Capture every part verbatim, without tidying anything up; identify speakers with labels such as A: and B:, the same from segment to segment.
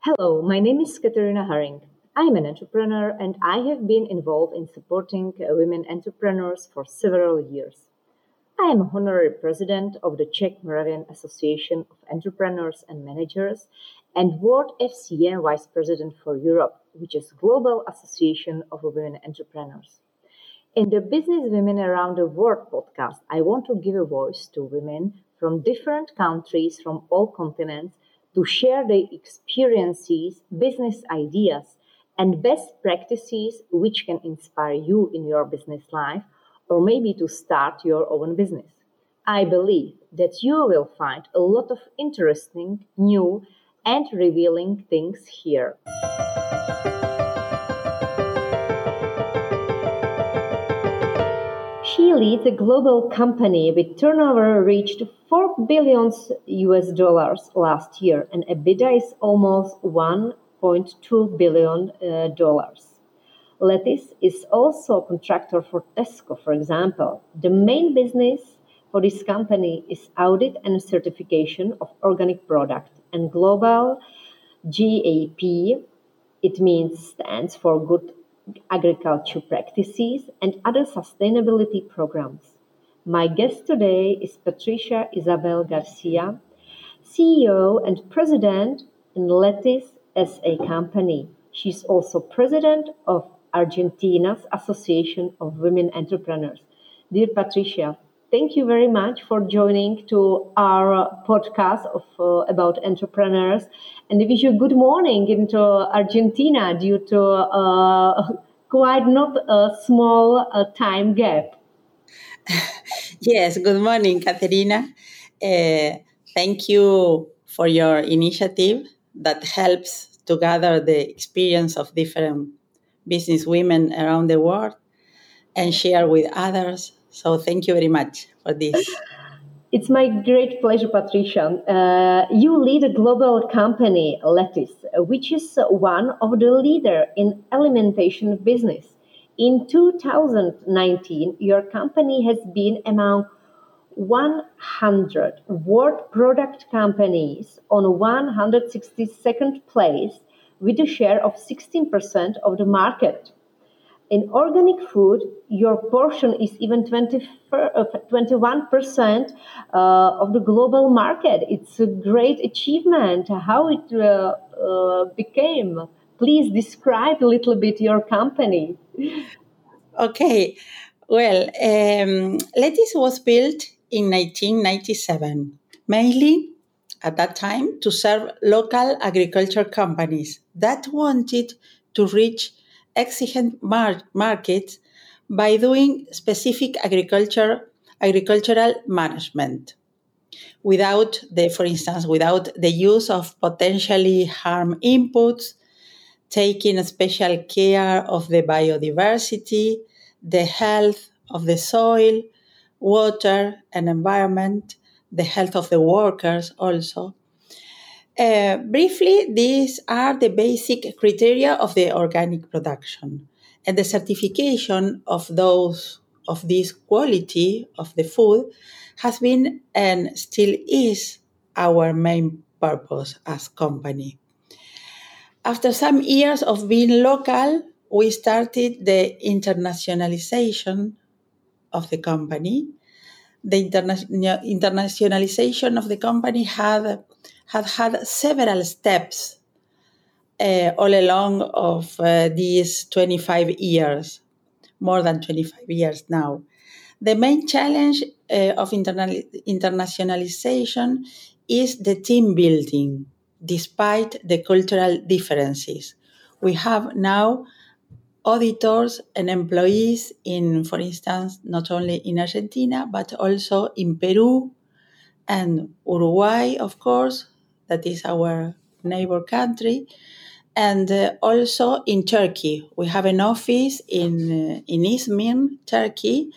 A: Hello, my name is Katerina Haring. I am an entrepreneur and I have been involved in supporting uh, women entrepreneurs for several years. I am honorary president of the Czech Moravian Association of Entrepreneurs and Managers and World F C N Vice President for Europe, which is Global Association of Women Entrepreneurs. In the Business Women Around the World podcast, I want to give a voice to women from different countries from all continents to share their experiences, business ideas, and best practices which can inspire you in your business life or maybe to start your own business. I believe that you will find a lot of interesting, new, and revealing things here. She leads a global company with turnover reached four billion U S dollars last year and EBITDA is almost one point two billion uh, dollars. Lettice is also a contractor for Tesco, for example. The main business for this company is audit and certification of organic product and global G A P. It means stands for Good Agriculture Practices and other sustainability programs. My guest today is Patricia Isabel Garcia, C E O and President in Lettice S A company. She's also President of Argentina's Association of Women Entrepreneurs. Dear Patricia, thank you very much for joining to our podcast of uh, about entrepreneurs, and I wish you good morning into Argentina due to uh, quite not a small uh, time gap.
B: Yes, good morning, Caterina. Uh, thank you for your initiative that helps to gather the experience of different business women around the world and share with others. So thank you very much for this.
A: It's my great pleasure, Patricia. Uh, you lead a global company, Lettice, which is one of the leader in alimentation business. In two thousand nineteen, your company has been among one hundred world product companies on one hundred sixty-second place with a share of sixteen percent of the market. In organic food, your portion is even twenty, twenty-one percent uh, of the global market. It's a great achievement. How it uh, uh, became? Please describe a little bit your company.
B: Okay, well, um, Lettice was built in nineteen ninety-seven, mainly at that time to serve local agriculture companies that wanted to reach exigent mar- markets by doing specific agriculture agricultural management without the for instance without the use of potentially harm inputs, taking special care of the biodiversity, the health of the soil, water and environment, the health of the workers also. Uh, briefly, these are the basic criteria of the organic production, and the certification of those of this quality of the food has been and still is our main purpose as company. After some years of being local, we started the internationalization of the company. The interna- internationalization of the company had had had several steps uh, all along of uh, these twenty-five years, more than twenty-five years now. The main challenge uh, of internal- internationalization is the team building, despite the cultural differences. We have now auditors and employees in, for instance, not only in Argentina, but also in Peru and Uruguay, of course, that is our neighbor country, and uh, also in Turkey. We have an office in, uh, in Izmir, Turkey,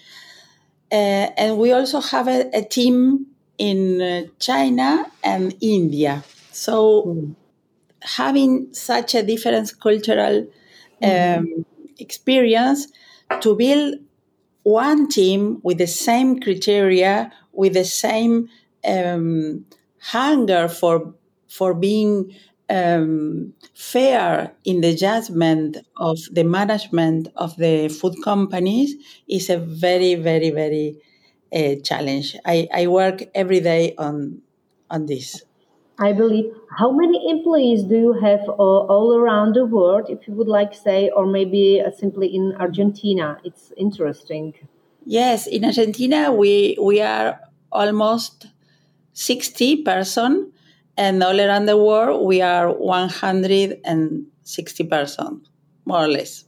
B: uh, and we also have a, a team in uh, China and India. So
A: Mm.
B: having such a different cultural um,
A: Mhm.
B: experience to build one team with the same criteria, with the same um, hunger for for being um, fair in the judgment of the management of the food companies is a very, very, very uh, challenge. I, I work every day on on this.
A: I believe. How many employees do you have uh, all around the world, if you would like to say, or maybe uh, simply in Argentina? It's interesting.
B: Yes, in Argentina we we are almost sixty person, and all around the world we are one hundred sixty person, more or less.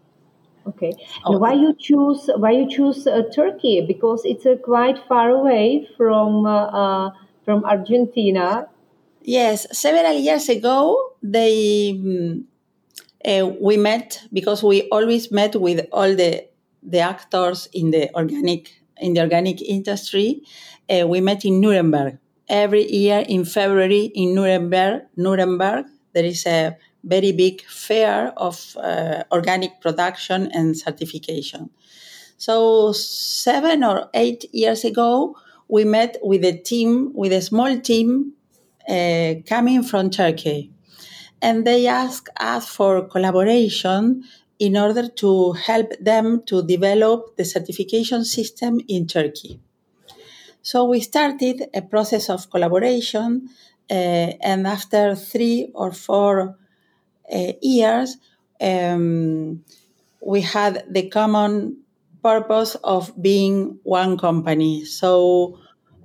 A: Okay, and
B: Oh,
A: why you choose why you choose uh, Turkey? Because it's uh, quite far away from uh, uh, from Argentina.
B: yes, several years ago they mm, uh, we met because we always met with all the the actors in the organic in the organic industry. Uh, we met in Nuremberg every year in February in Nuremberg. Nuremberg, there is a very big fair of uh, organic production and certification. So seven or eight years ago, we met with a team, with a small team uh, coming from Turkey, and they asked us for collaboration in order to help them to develop the certification system in Turkey. So we started a process of collaboration, uh, and after three or four uh, years, um, we had the common purpose of being one company. So,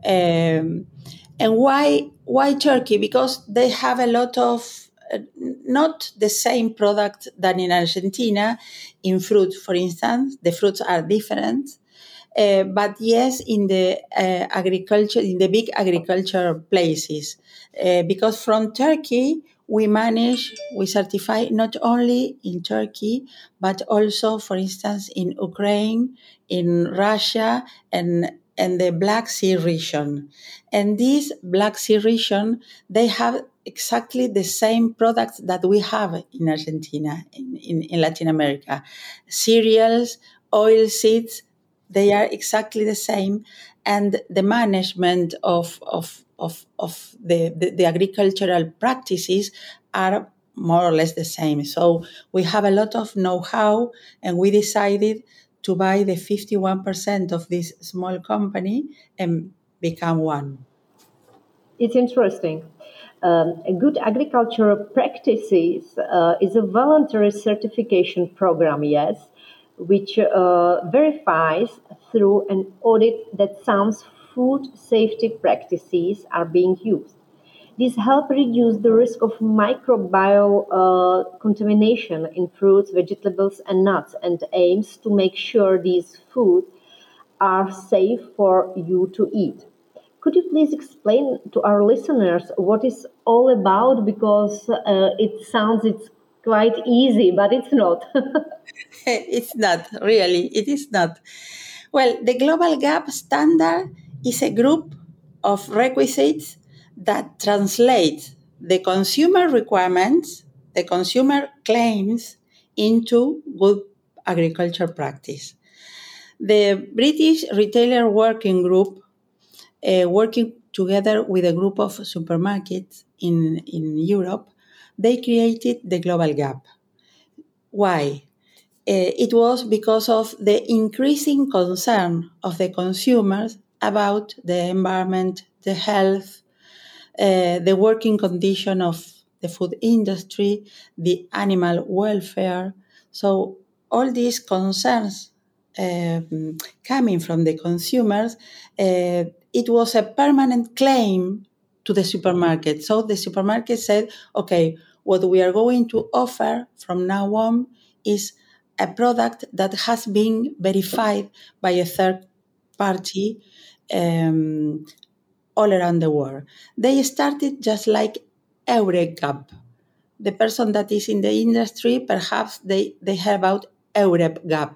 B: um, and why why Turkey? Because they have a lot of uh, not the same product than in Argentina. In fruit, for instance, the fruits are different. Uh, but yes, in the uh, agriculture, in the big agriculture places, uh, because from Turkey we manage, we certify not only in Turkey, but also, for instance, in Ukraine, in Russia, and and the Black Sea region. And this Black Sea region, they have exactly the same products that we have in Argentina, in, in, in Latin America. Cereals, oil seeds, they are exactly the same, and the management of of of, of the, the, the agricultural practices are more or less the same. So we have a lot of know-how, and we decided to buy the fifty-one percent of this small company and become one.
A: It's interesting. Um, a good agricultural practices uh, is a voluntary certification program, yes, which uh, verifies through an audit that some food safety practices are being used. These help reduce the risk of microbial uh, contamination in fruits, vegetables, and nuts, and aims to make sure these foods are safe for you to eat. Could you please explain to our listeners what it's all about? Because uh, it sounds it's quite easy, but it's not.
B: It's not really, it is not. Well, the Global Gap Standard is a group of requisites that translate the consumer requirements, the consumer claims, into good agriculture practice. The British Retailer Working Group, uh, working together with a group of supermarkets in, in Europe, they created the Global Gap. Why? Uh, it was because of the increasing concern of the consumers about the environment, the health, uh, the working condition of the food industry, the animal welfare. So all these concerns um, coming from the consumers, uh, it was a permanent claim to the supermarket. So the supermarket said, okay, what we are going to offer from now on is a product that has been verified by a third party um, all around the world. They started just like EUREGAP. The person that is in the industry, perhaps they, they heard about EUREGAP.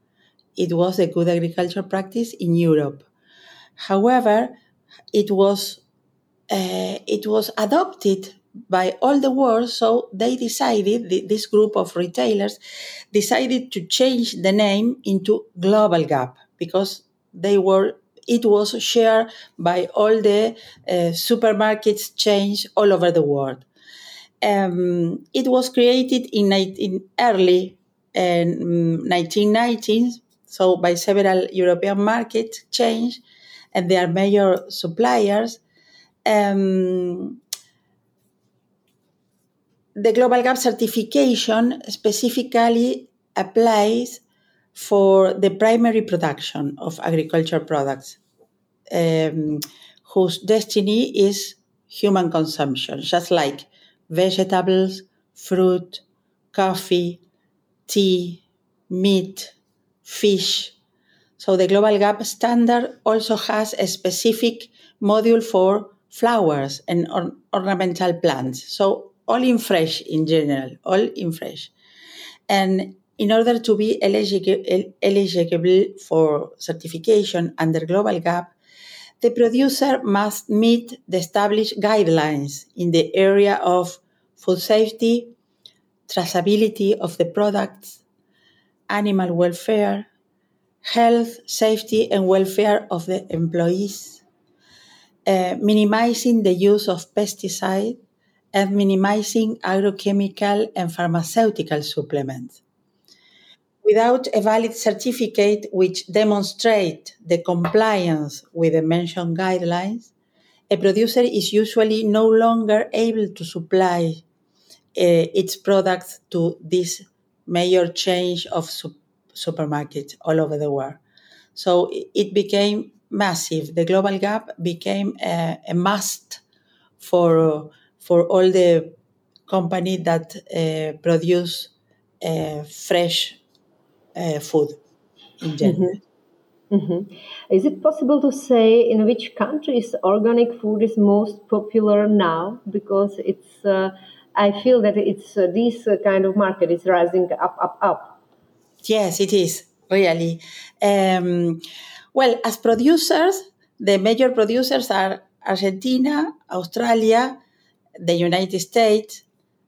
B: It was a good agriculture practice in Europe. However, it was uh, it was adopted by all the world, so they decided, this group of retailers decided to change the name into Global Gap because they were it was shared by all the uh, supermarkets chains all over the world. Um, it was created in, in early um, nineteen nineties, so by several European market chains, and their major suppliers. Um, the Global Gap certification specifically applies for the primary production of agriculture products, um, whose destiny is human consumption, just like vegetables, fruit, coffee, tea, meat, fish. So the Global Gap standard also has a specific module for flowers and or- ornamental plants. So all in fresh in general, all in fresh. And in order to be eligible, eligible for certification under Global Gap, the producer must meet the established guidelines in the area of food safety, traceability of the products, animal welfare, health, safety, and welfare of the employees, uh, minimizing the use of pesticides, and minimizing agrochemical and pharmaceutical supplements. Without a valid certificate which demonstrate the compliance with the mentioned guidelines, a producer is usually no longer able to supply uh, its products to this major chain of su- supermarkets all over the world. So it became massive. The global gap became a, a must for for all the companies that uh, produce uh, fresh uh, food in general.
A: Mhm. Is it possible to say in which countries organic food is most popular now? Because it's, uh, I feel that it's uh, this uh, kind of market is rising up, up, up.
B: Yes, it is really. Um, well, as producers, the major producers are Argentina, Australia, the United States,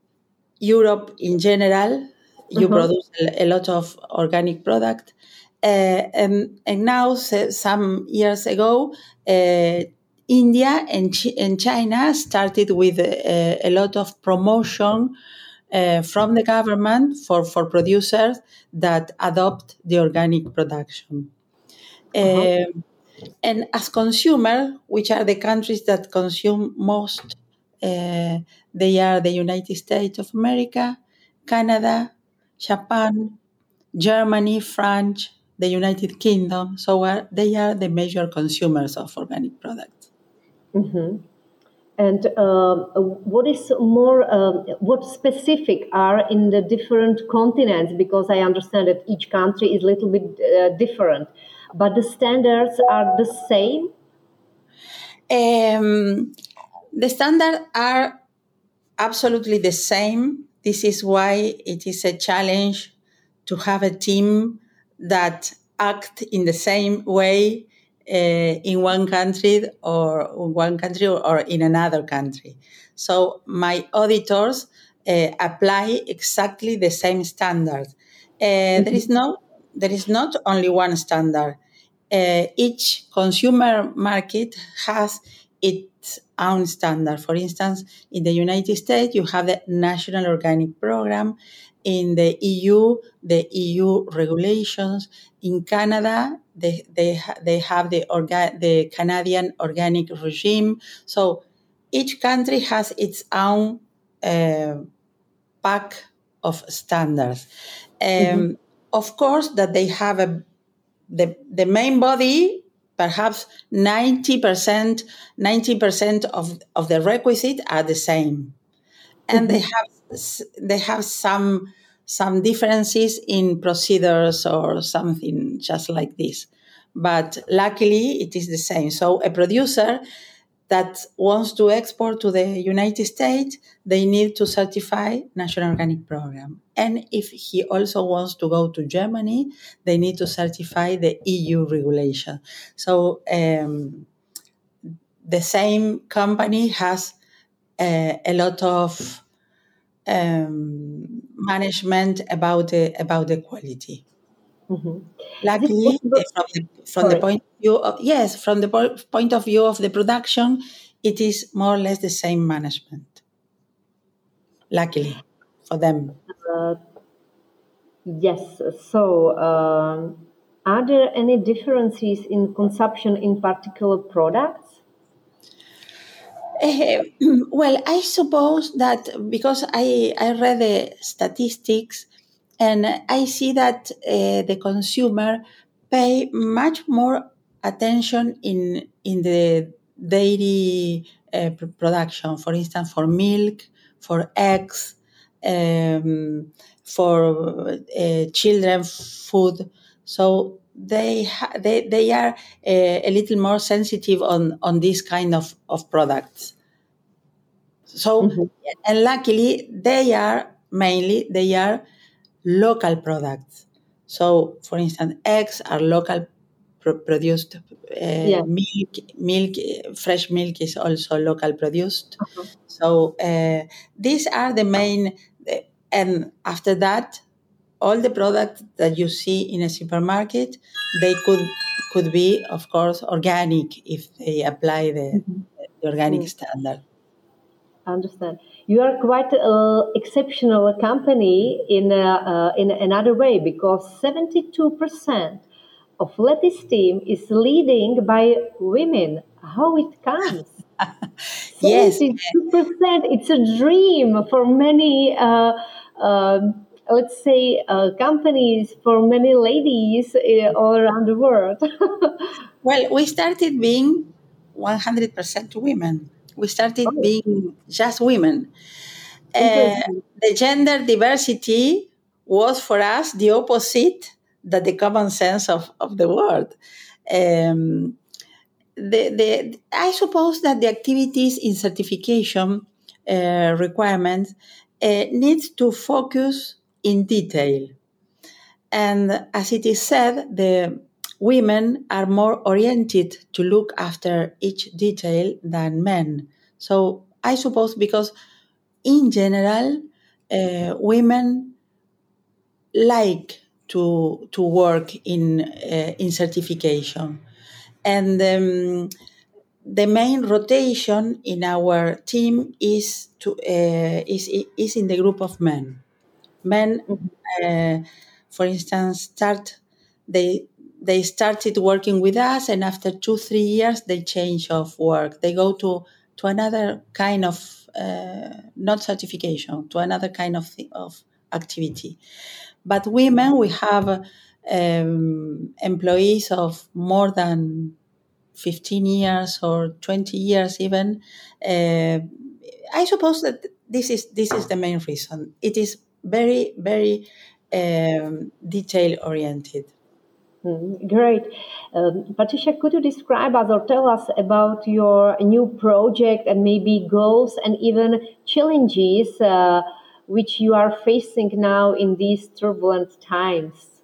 B: Europe in general. You
A: Uh-huh.
B: produce a a lot of organic product. Uh, and, and now, se- some years ago, uh, India and, Chi- and China started with a, a lot of promotion uh, from the government for, for producers that adopt the organic production.
A: Uh-huh.
B: Um, and as consumer, which are the countries that consume most, uh, they are the United States of America, Canada, Japan, Germany, France, the United Kingdom. So are, they are the major consumers of organic products.
A: Mhm. And um, what is more, um, what specific are in the different continents? Because I understand that each country is a little bit uh, different, but the standards are the same.
B: Um, the standards are absolutely the same. This is why it is a challenge to have a team that act in the same way uh, in one country or one country or in another country. So my auditors uh, apply exactly the same standard. Uh, there is no, there is not only one standard. Uh, each consumer market has its own standard. For instance, in the United States, you have the National Organic Program. In the E U, the E U regulations. In Canada, they, they, they have the, orga- the Canadian Organic Regime. So each country has its own uh, pack of standards.
A: Mhm.
B: Um, of course, that they have a the, the main body, perhaps ninety percent, ninety percent of, of the requisite are the same. And they
A: Mhm.
B: have s- they have some some differences in procedures or something just like this. But luckily it is the same. So a producer that wants to export to the United States, they need to certify National Organic Program. And if he also wants to go to Germany, they need to certify the E U regulation. So um, the same company has uh, a lot of um, management about the about the quality.
A: Mhm. Is it
B: Luckily,
A: possible?
B: eh, from the from the
A: Sorry.
B: point of view of yes, from the po- point of view of the production, it is more or less the same management. luckily for them.
A: Uh, yes. So, um, are there any differences in consumption in particular products?
B: Eh, well, I suppose that because I, I read the statistics and I see that uh, the consumer pay much more attention in in the dairy uh, pr- production. For instance, for milk, for eggs, um, for uh, children food. So they ha- they they are uh, a little more sensitive on on this kind of of products. So,
A: Mhm.
B: and luckily, they are mainly they are local products. So, for instance, eggs are local pro- produced. Uh,
A: Yeah.
B: milk, milk, uh, fresh milk is also local produced.
A: Uh-huh.
B: So uh, these are the main. uh, And after that, all the products that you see in a supermarket, they could could be, of course, organic if they apply the,
A: Mhm.
B: the organic
A: Mm.
B: standard.
A: I understand. You are quite an exceptional company in a, uh, in another way because seventy-two percent of Letty's team is leading by women. How it comes?
B: Yes,
A: seventy-two percent. It's a dream for many, uh, um, let's say, uh, companies, for many ladies uh, all around the world.
B: well, we started being one hundred percent women. We started
A: Oh,
B: being just women. Uh,
A: interesting.
B: the gender diversity was for us the opposite that the common sense of, of the word. Um, the, the, I suppose that the activities in certification uh, requirements uh, needs to focus in detail. And as it is said, the women are more oriented to look after each detail than men. So I suppose because in general, uh, women like to to work in uh, in certification, and um, the main rotation in our team is to uh, is is in the group of men. Men,
A: Mhm.
B: uh, for instance, start they they started working with us, and after two three years they change of work. They go to to another kind of uh, not certification, to another kind of thi- of activity. But women, we have um, employees of more than fifteen years or twenty years even. uh, I suppose that this is this is the main reason. It is very very um, detail oriented.
A: Mm, great. Um, Patricia, could you describe us or tell us about your new project and maybe goals and even challenges uh, which you are facing now in these turbulent times?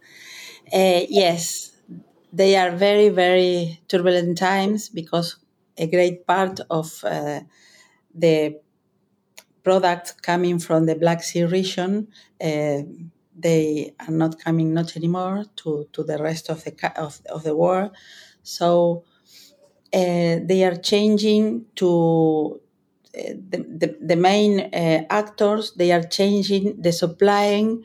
B: Uh, yes, they are very very turbulent times because a great part of uh, the products coming from the Black Sea region, uh, they are not coming not anymore to, to the rest of the ca- of, of the world. So uh, they are changing to uh, the, the, the main uh, actors. They are changing the supplying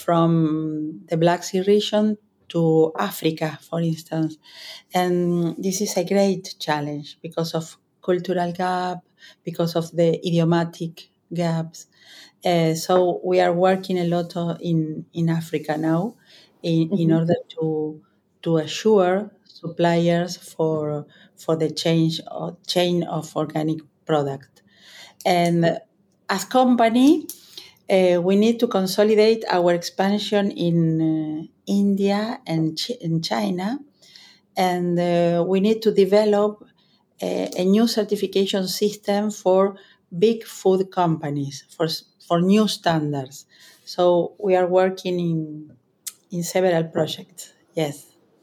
B: from the Black Sea region to Africa, for instance. And this is a great challenge because of cultural gap, because of the idiomatic gaps. Uh, so we are working a lot o- in, in Africa now in, in
A: Mhm.
B: order to to assure suppliers for for the change or chain of organic product. And as company, uh, we need to consolidate our expansion in uh, India and Ch- in China, and uh, we need to develop a, a new certification system for big food companies for s- for new standards. So we are working in in several projects. Yes.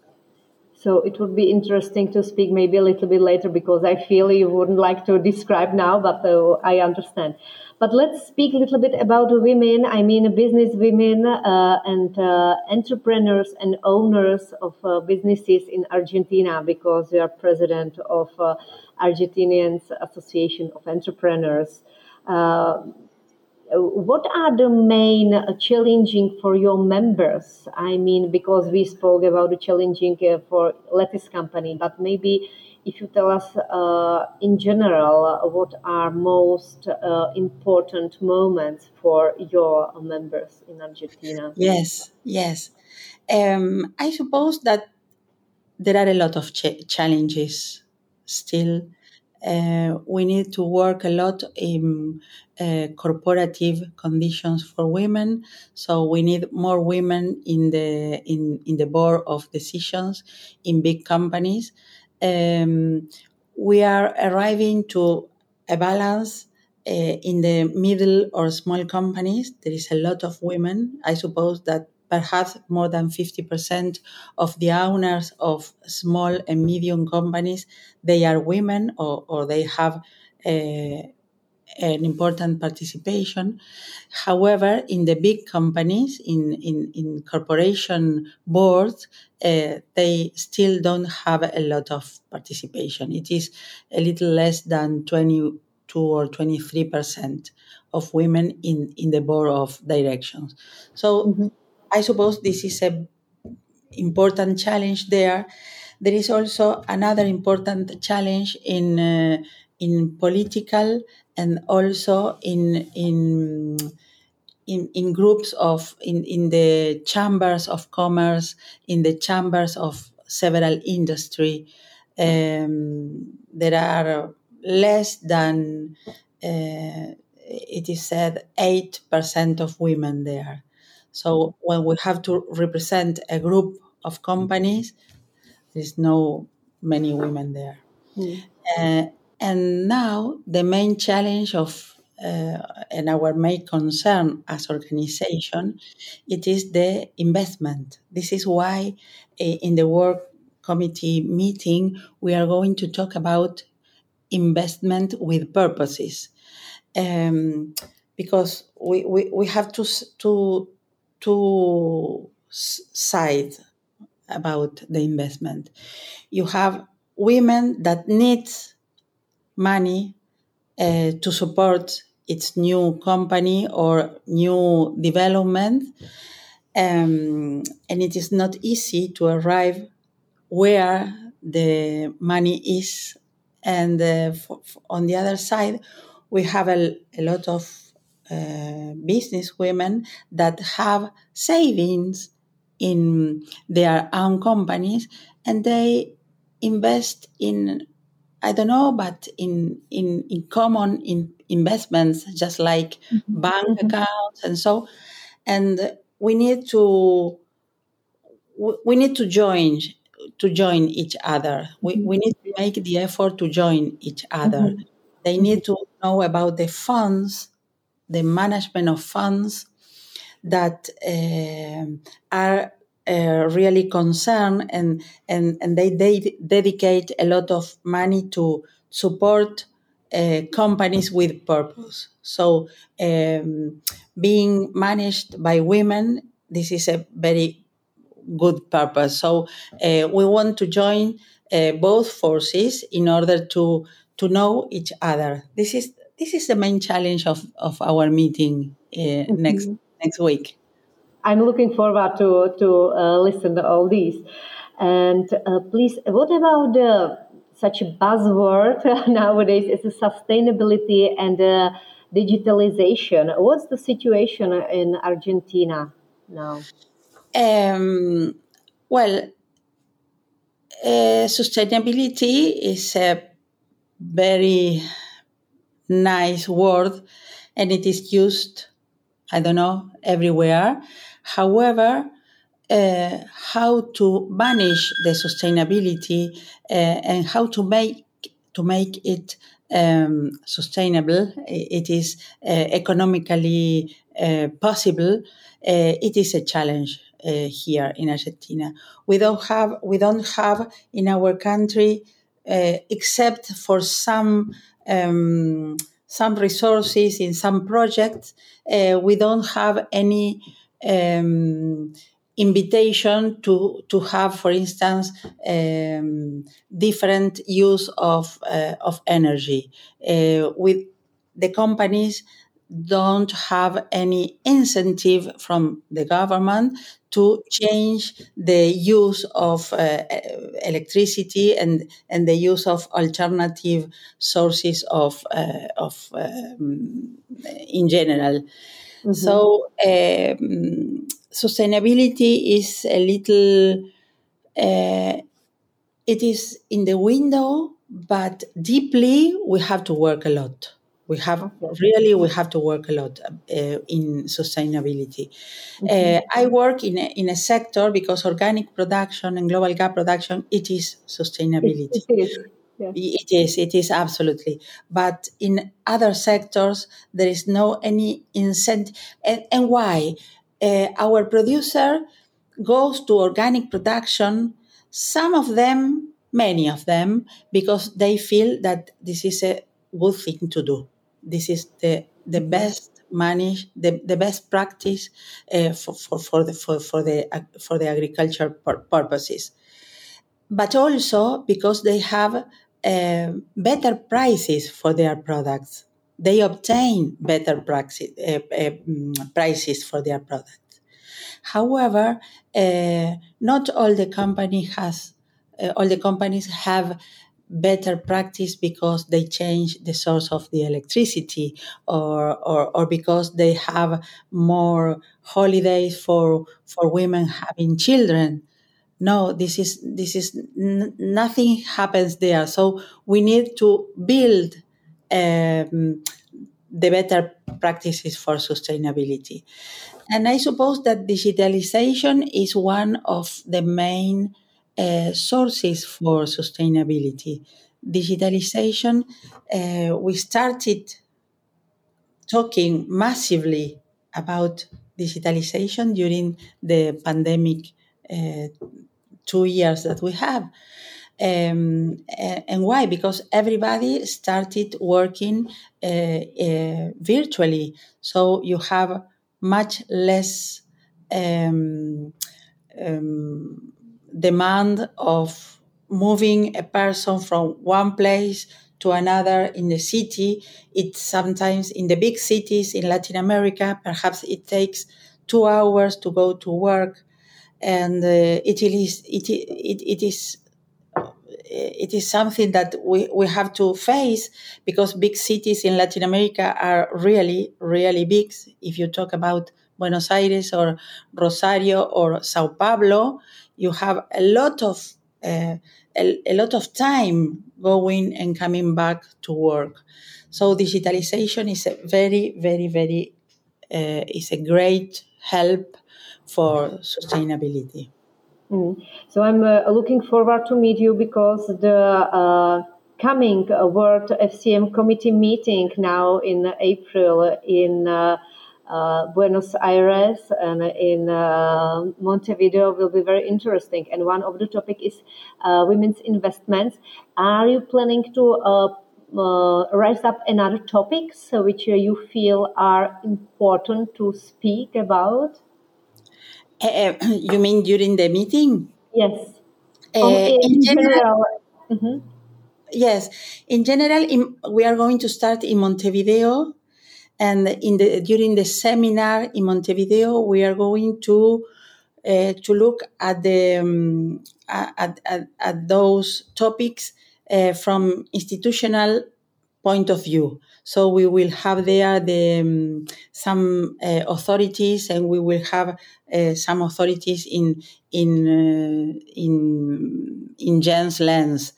A: So it would be interesting to speak maybe a little bit later because I feel you wouldn't like to describe now, but uh, I understand. But let's speak a little bit about the women. I mean, business women uh, and uh, entrepreneurs and owners of uh, businesses in Argentina because you are president of uh, Argentinians Association of Entrepreneurs. Uh, what are the main uh, challenging for your members? I mean, because we spoke about the challenging uh, for Lattice company, but maybe if you tell us uh, in general, uh, what are most uh, important moments for your members in Argentina?
B: Yes, yes. Um, I suppose that there are a lot of ch- challenges still. Uh, we need to work a lot in uh, corporative conditions for women. So we need more women in the in, in the board of decisions in big companies. Um, we are arriving to a balance uh, in the middle or small companies. There is a lot of women. I suppose that perhaps more than fifty percent of the owners of small and medium companies, they are women, or, or they have a, an important participation. However, in the big companies, in, in, in corporation boards, uh, they still don't have a lot of participation. It is a little less than twenty-two or twenty-three percent of women in, in the board of directions. So
A: Mm-hmm.
B: I suppose this is a important challenge there. There is also another important challenge in uh, in political and also in in in, in groups of in, in the chambers of commerce, in the chambers of several industry. Um, there are less than uh, it is said eight percent of women there. So when we have to represent a group of companies, there's no many women there. Uh, and now the main challenge of uh, and our main concern as organization, it is the investment. This is why uh, in the work committee meeting we are going to talk about investment with purposes, um, because we, we, we have to to two sides about the investment. You have women that need money uh, to support its new company or new development, um, and it is not easy to arrive where the money is. And uh, for, for, on the other side, we have a, a lot of uh, business women that have savings in their own companies, and they invest in, I don't know, but in in, in common in investments, just like bank
A: Mm-hmm.
B: accounts and so. And we need to we need to join to join each other. We, we need to make the effort to join each other.
A: Mm-hmm.
B: They need to know about the funds, the management of funds that um are uh, really concerned, and, and, and they, they dedicate a lot of money to support uh, companies with purpose. So um, being managed by women, this is a very good purpose. So uh, we want to join uh, both forces in order to to know each other. This is this is the main challenge of, of our meeting uh, next
A: Mm-hmm.
B: next week.
A: I'm looking forward to to uh, listen to all these. And uh, please, what about the such a buzzword nowadays is the sustainability and uh, digitalization? What's the situation in Argentina now?
B: Um, well, uh, sustainability is a very nice word, and it is used, I don't know, everywhere. However, uh, how to manage the sustainability uh, and how to make to make it um, sustainable, it is uh, economically uh, possible. Uh, it is a challenge uh, here in Argentina. We don't have we don't have in our country, uh, except for some um, some resources in some projects, uh, we don't have any um, invitation to to have, for instance, um, different use of uh, of energy. Uh, with the companies, don't have any incentive from the government to change the use of uh, electricity and, and the use of alternative sources of, uh, of um, in general. Mm-hmm. So um, sustainability is a little, uh, it is in the window, but deeply we have to work a lot. We have really, we have to work a lot uh, in sustainability. Mm-hmm. Uh, I work in a, in a sector because organic production and global gap production, it is sustainability.
A: It, it is. Yeah.
B: It is, it is absolutely. But in other sectors, there is no any incentive. And, and why? Uh, our producer goes to organic production, some of them, many of them, because they feel that this is a good thing to do. This is the, the best manage, the, the best practice uh, for, for, for, the, for, for, the, for the agriculture pur- purposes. But also because they have uh, better prices for their products. They obtain better praxis, uh, uh, prices for their products. However, uh, not all the company has, uh, all the companies have better practice because they change the source of the electricity, or, or, or because they have more holidays for, for women having children. No, this is this is n- nothing happens there. So we need to build um, the better practices for sustainability. And I suppose that digitalization is one of the main uh, sources for sustainability. Digitalization, uh, we started talking massively about digitalization during the pandemic uh, two years that we have. Um, and why? Because everybody started working uh, uh, virtually. So you have much less um, um, demand of moving a person from one place to another in the city. It's sometimes in the big cities in Latin America, perhaps it takes two hours to go to work. And uh, it is it, it, it is it is something that we, we have to face, because big cities in Latin America are really, really big. If you talk about Buenos Aires or Rosario or Sao Paulo, you have a lot of uh, a, a lot of time going and coming back to work. So digitalization is a very, very, very uh, is a great help for sustainability.
A: Mm. So I'm uh, looking forward to meet you, because the uh, coming uh, World F C M committee meeting now in April in uh, uh, Buenos Aires and in uh, Montevideo will be very interesting. And one of the topic is uh, women's investments. Are you planning to uh, uh, raise up another topics which you feel are important to speak about?
B: Uh, you mean during the meeting?
A: Yes.
B: Uh,
A: On, in,
B: in general,
A: general. Mm-hmm.
B: Yes. In general, in, we are going to start in Montevideo, and in the during the seminar in Montevideo, we are going to uh, to look at the um, at, at, at those topics uh, from institutional point of view. So we will have there the um, some uh, authorities, and we will have uh, some authorities in in uh, in in Jen's lens.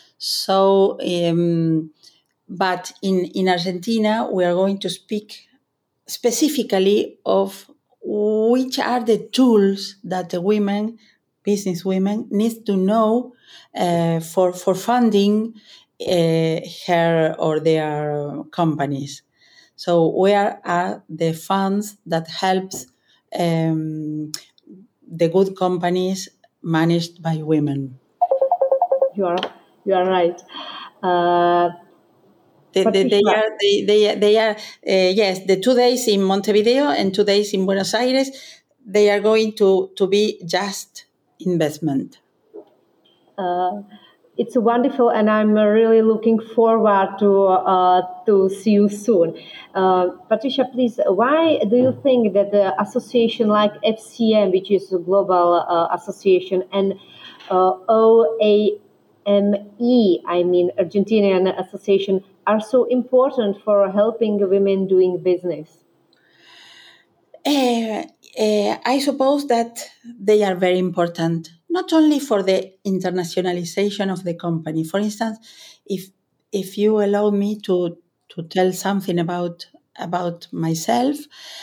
B: So, um, but in in Argentina, we are going to speak specifically of which are the tools that the women, business women, need to know uh, for for funding uh, her or their companies. So where are the funds that helps um, the good companies managed by women?
A: You are you are right. Uh,
B: They, they, they are they they, they are uh, yes, the two days in Montevideo and two days in Buenos Aires, they are going to to be just investment.
A: Uh, It's wonderful, and I'm uh, really looking forward to uh, to see you soon. Uh, Patricia, please, why do you think that the association like F C M, which is a global uh, association, and uh, O A M E, I mean Argentinian Association, are so important for helping women doing business?
B: Uh, uh, I suppose that they are very important, not only for the internationalization of the company. For instance, if if you allow me to to tell something about about myself,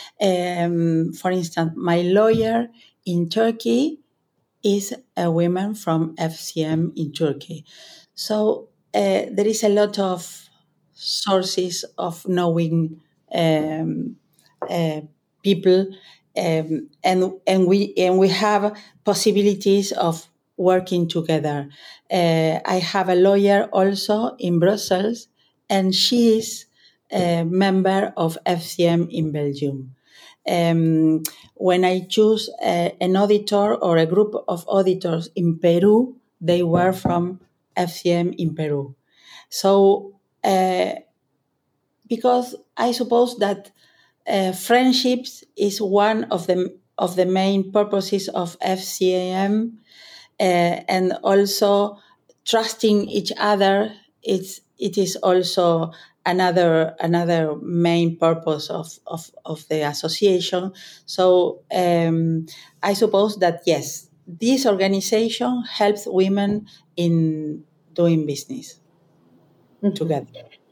B: um, for instance, my lawyer in Turkey is a woman from F C M in Turkey. So uh, there is a lot of sources of knowing um, uh, people, um, and and we and we have possibilities of working together. Uh, I have a lawyer also in Brussels, and she is a member of F C M in Belgium. Um, when I choose a, an auditor or a group of auditors in Peru, they were from F C M in Peru. So, uh, because I suppose that uh, friendships is one of the of the main purposes of F C M, uh, and also trusting each other. It's it is also another another main purpose of of, of the association. So um, I suppose that yes, this organization helps women in doing business together.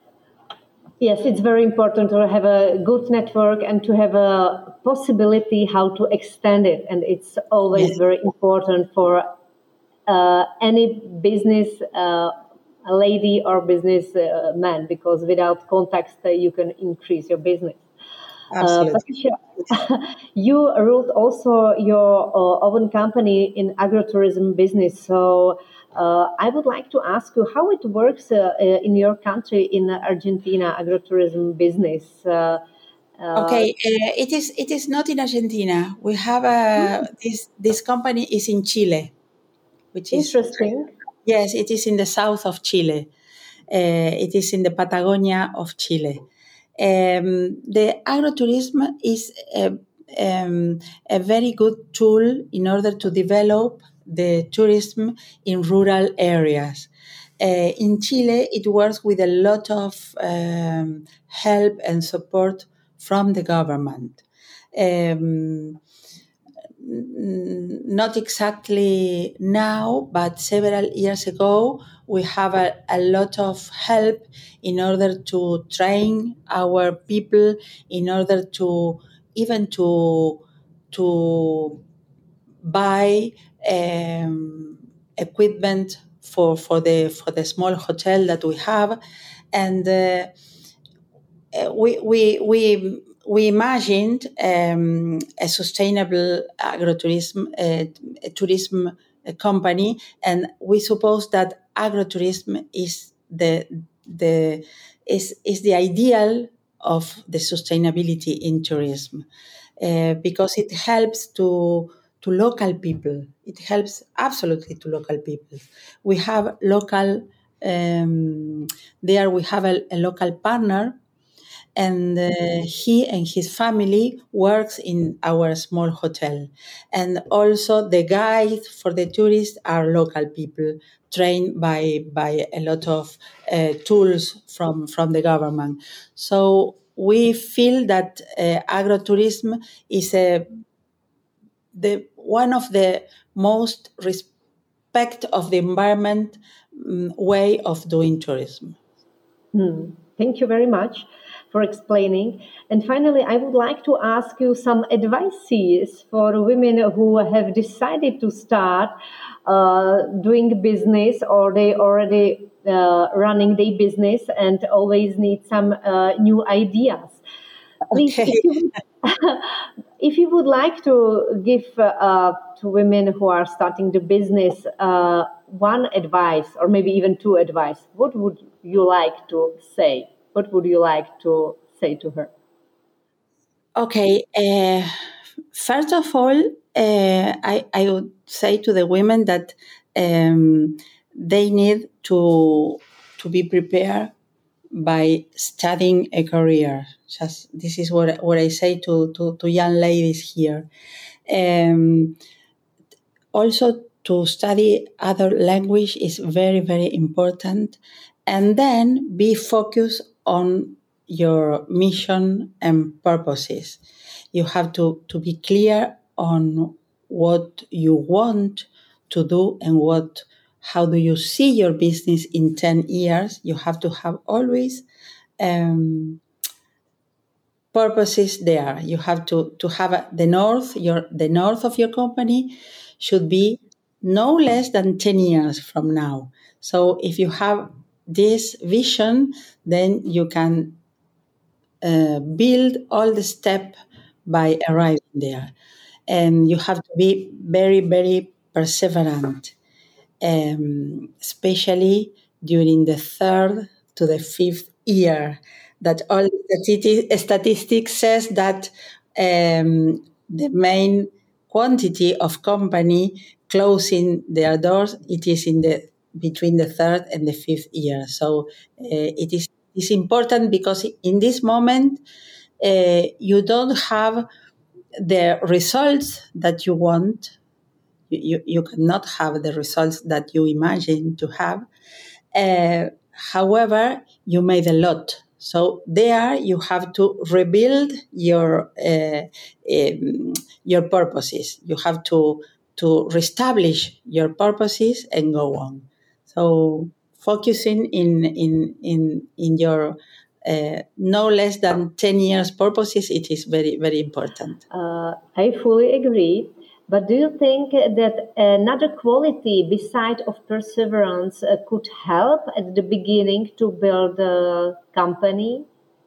A: Yes, it's very important to have a good network and to have a possibility how to extend it. And it's always
B: Yes,
A: very important for uh, any business uh, lady or business uh, man, because without context, uh, you can increase your business. Uh,
B: absolutely.
A: Patricia, you ruled also your uh, own company in agrotourism business. So uh, I would like to ask you how it works uh, uh, in your country in Argentina agrotourism business. Uh, uh,
B: Okay, uh, it is it is not in Argentina. We have a this this company is in Chile, which is
A: Interesting.
B: yes, it is in the south of Chile. Uh, it is in the Patagonia of Chile. Um, the agrotourism is a, um, a very good tool in order to develop the tourism in rural areas. Uh, in Chile, it works with a lot of um, help and support from the government. Um, Not exactly now, but several years ago, we have a, a lot of help in order to train our people, in order to even to to buy um, equipment for, for the for the small hotel that we have, and uh, uh, we we we we imagined um, a sustainable agrotourism uh, tourism uh, company, and we suppose that agrotourism is the the is is the ideal of the sustainability in tourism, uh, because it helps to to local people. It helps absolutely to local people. We have local um, there. We have a, a local partner, and uh, he and his family works in our small hotel, and also the guide for the tourists are local people trained by by a lot of uh, tools from from the government. So we feel that uh, agrotourism is a the one of the most respect of the environment um, way of doing tourism.
A: Hmm. Thank you very much for explaining. And finally, I would like to ask you some advices for women who have decided to start uh, doing business, or they already uh, running their business and always need some uh, new ideas. Please,
B: Okay.
A: if you if you would like to give uh, to women who are starting the business uh, one advice, or maybe even two advice, what would you like to say? What would you like to say to her?
B: Okay. Uh, first of all, uh, I, I would say to the women that um, they need to to be prepared by studying a career. Just this is what what I say to to, to young ladies here. Um, also, to study other language is very very important, and then be focused on your mission and purposes. You have to, to be clear on what you want to do and what how do you see your business in ten years. You have to have always um, purposes there. You have to, to have a, the north, your the north of your company should be no less than ten years from now. So if you have this vision, then you can uh, build all the step by arriving there. And you have to be very, very perseverant, um, especially during the third to the fifth year. That all stati- statistics says that um, the main quantity of company closing their doors, it is in the between the third and the fifth year. So uh, it is is important because in this moment uh, you don't have the results that you want. You, you cannot have the results that you imagine to have. Uh, however, you made a lot. So there you have to rebuild your uh, um, your purposes. You have to to reestablish your purposes and go on. So focusing in in in in your uh, no less than ten years purposes, it is very very important.
A: Uh, I fully agree. But do you think that another quality beside of perseverance uh, could help at the beginning to build a company?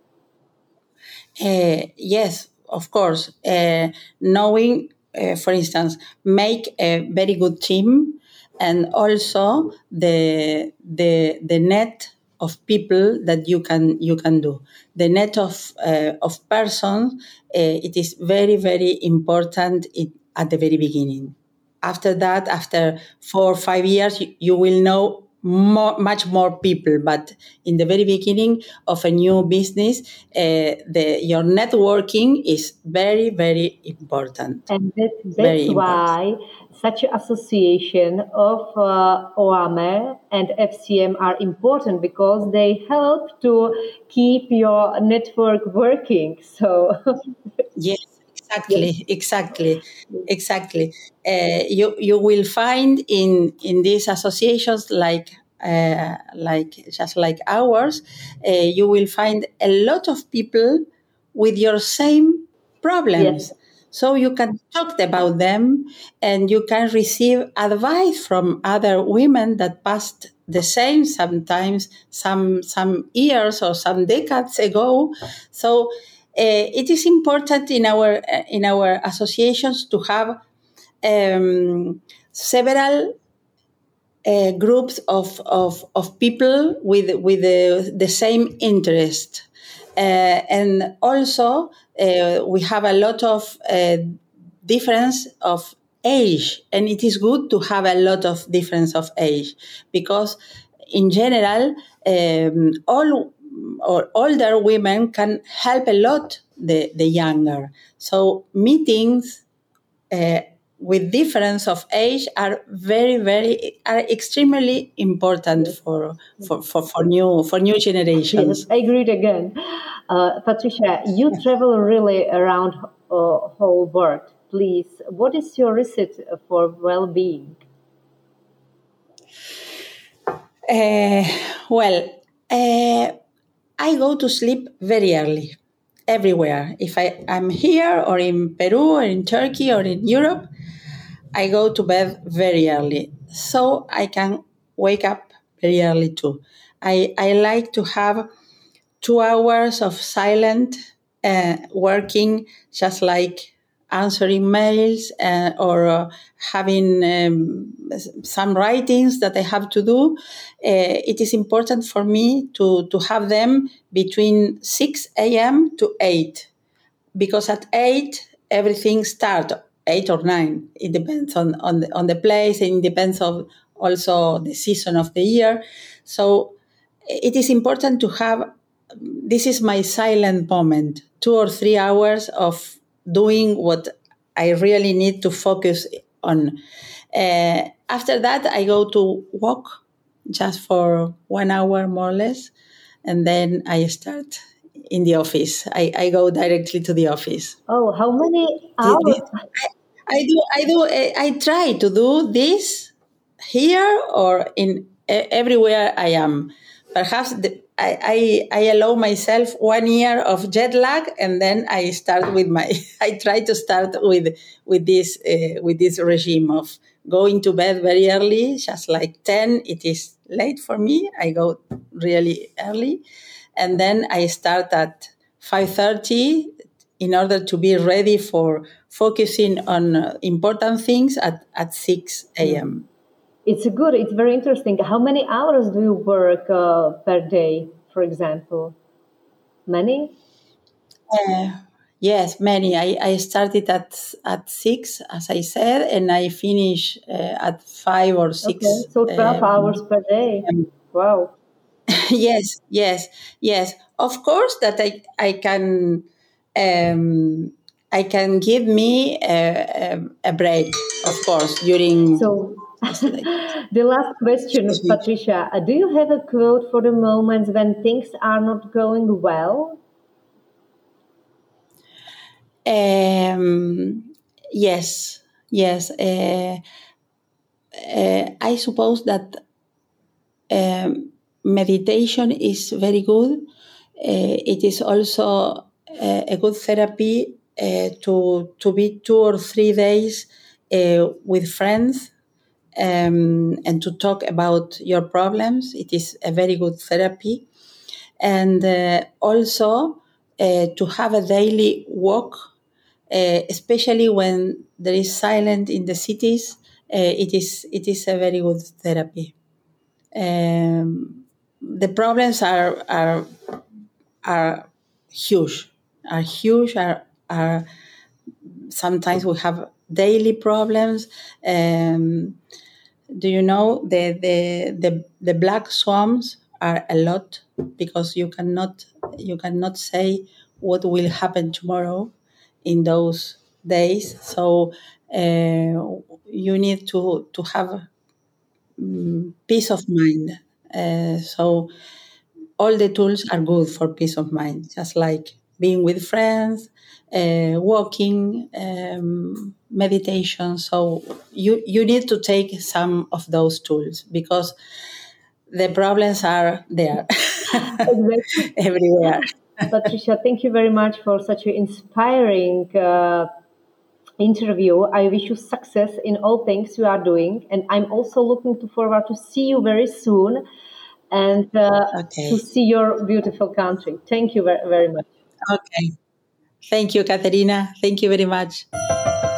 B: Uh, yes, of course. Uh, knowing, uh, for instance, make a very good team, and also the the the net of people that you can you can do the net of uh, of persons. Uh, it is very very important it, at the very beginning. After that, after four or five years, you, you will know more, much more people. But in the very beginning of a new business, uh, the your networking is very, very important.
A: And that, that's
B: Very important.
A: why such an association of uh, O A M E and F C M are important because they help to keep your network working. So,
B: Yes,
A: yes.
B: exactly, exactly, exactly. Uh, you you will find in in these associations like uh, like just like ours, uh, you will find a lot of people with your same
A: Yes.
B: problems. So you can talk about them, and you can receive advice from other women that passed the same sometimes some some years or some decades ago. So uh, it is important in our uh, in our associations to have um, several uh, groups of, of, of people with with the, the same interest, uh, and also uh, we have a lot of uh, difference of age, and it is good to have a lot of difference of age because in general um, all or older women can help a lot the, the younger. So meetings uh, with difference of age are very very are extremely important for for, for, for new for new
A: Yes,
B: generations.
A: I agreed again. Uh, Patricia, you travel really around uh, whole world. Please, what is your recipe for well-being?
B: Uh, well, uh, I go to sleep very early, everywhere. If I am here or in Peru or in Turkey or in Europe, I go to bed very early, so I can wake up very early too. I, I like to have two hours of silent uh, working, just like answering mails uh, or uh, having um, some writings that I have to do. Uh, it is important for me to, to have them between six a.m. to eight, because at eight everything starts, eight or nine. It depends on, on, the, on the place, and it depends of, also the season of the year. So it is important to have, this is my silent moment, two or three hours of doing what I really need to focus on. Uh, after that, I go to walk just for one hour more or less, and then I start in the office. I, I go directly to the office.
A: Oh, how many
B: Thi-
A: hours?
B: thi- I, I do, I do, I, I try to do this here or in e- everywhere I am. Perhaps the, I, I, I allow myself one year of jet lag, and then I start with my. I try to start with with this uh, with this regime of going to bed very early, just like ten. It is late for me. I go really early, and then I start at five thirty in order to be ready for focusing on uh, important things at, at six a.m.
A: It's good. It's very interesting. How many hours do you work uh, per day, for example? Many?
B: Uh, yes, many. I, I started at at six, as I said, and I finish uh, at five or
A: Okay,
B: six.
A: so twelve hours
B: Um,
A: per day. Wow.
B: yes, yes, yes. Of course, that I I can um, I can give me a, a, a break. Of course, during.
A: So, the last question, Patricia, uh, do you have a quote for the moments when things are not going well?
B: Um, yes, yes. Uh, uh, I suppose that um, meditation is very good. Uh, it is also uh, a good therapy uh, to to be two or three days uh, with friends um, and to talk about your problems. It is a very good therapy, and uh, also uh, to have a daily walk, uh, especially when there is silence in the cities. Uh, it is it is a very good therapy. Um, the problems are are are huge, are huge, are are sometimes we have daily problems. Um, do you know the, the the the black swans are a lot because you cannot you cannot say what will happen tomorrow in those days. So uh, you need to to have um, peace of mind. Uh, so all the tools are good for peace of mind, just like being with friends, uh, walking, um, meditation. So you you need to take some of those tools because the problems are there
A: Exactly.
B: everywhere.
A: Patricia, thank you very much for such an inspiring uh, interview. I wish you success in all things you are doing, and I'm also looking to forward to see you very soon and uh, to
B: Okay.
A: see your beautiful country. Thank you very, very much.
B: Okay. Thank you, Katerina. Thank you very much.